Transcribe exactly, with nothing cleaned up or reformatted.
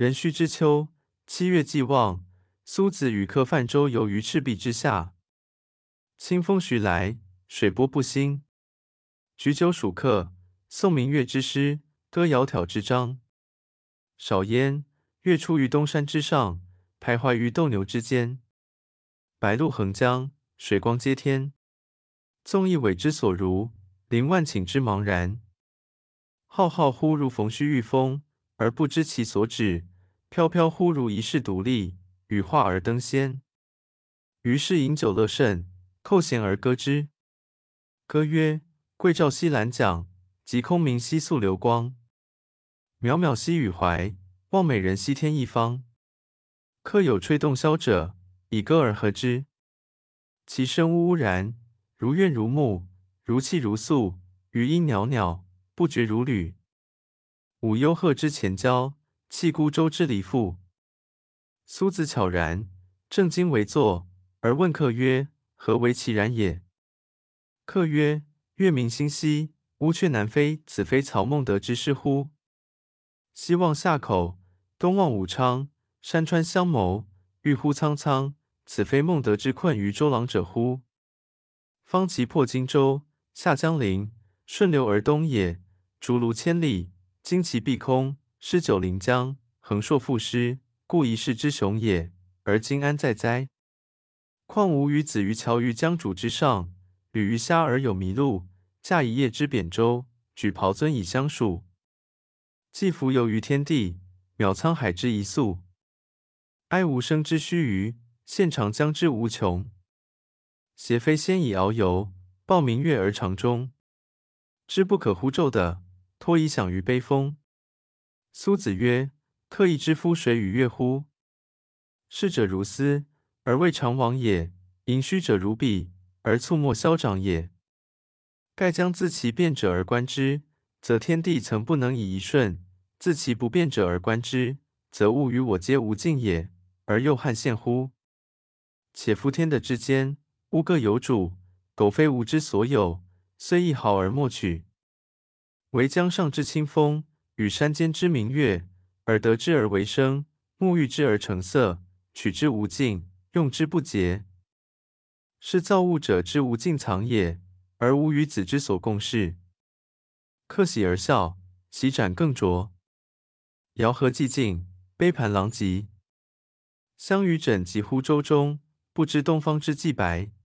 壬戌之秋，七月既望，蘇子與客泛舟遊於赤壁之下。清風徐來，水波不興。舉酒屬客，誦明月之詩，歌窈窕之章。少焉，月出於東山之上，徘徊於鬥牛之間。白露橫江，水光接天。縱一葦之所如，凌萬頃之茫然。浩浩乎如馮虛御風，而不知其所止；飄飄乎如遺世獨立，羽化而登仙。於是飲酒樂甚，扣舷而歌之。歌曰：桂棹兮蘭槳，擊空明兮溯流光。渺渺兮予懷，望美人兮天一方。客有吹洞簫者，以歌而和之。其聲嗚嗚然，如怨如慕，如泣如訴，餘音裊裊，不絕如縷。舞幽壑之潛蛟，泣孤舟之離婦。蘇子悄然，正襟危坐，而問客曰：何為其然也？客曰：月明星稀，烏鵲南飛，此非曹孟德之詩乎？西望夏口，東望武昌，山川相謀，鬱乎蒼蒼，此非孟德之困於周郎者乎？方其破荊州，下江陵，順流而東也，逐鹿千里，旌旗蔽空，詩酒臨江，橫槊賦詩，故一世之雄也，而今安在哉？況吾與子於橋於江渚之上，侶魚蝦而友麋鹿，駕一葉之扁舟，舉匏樽以相屬。既浮游於天地，渺滄海之一粟。哀吾生之須臾，羨長江之無窮。協飛仙以遨遊，抱明月而長終。知不可乎驟的，托遺響於悲風。蘇子曰：客亦知夫水與月乎？逝者如斯，而未嘗往也；盈虛者如彼，而猝沒消長也。蓋將自其變者而觀之，則天地曾不能以一瞬；自其不變者而觀之，則物與我皆無盡也，而又漢獻乎？且夫天地之間，物各有主，苟非吾之所有，雖一毫而莫取。惟江上之清風，與山間之明月，耳得之而為聲，目遇之而成色，取之無盡，用之不竭，是造物者之無盡藏也，而吾與子之所共適。客喜而笑，其盞更濁。肴核既盡，杯盤狼藉。相與枕藉乎舟中，不知東方之既白。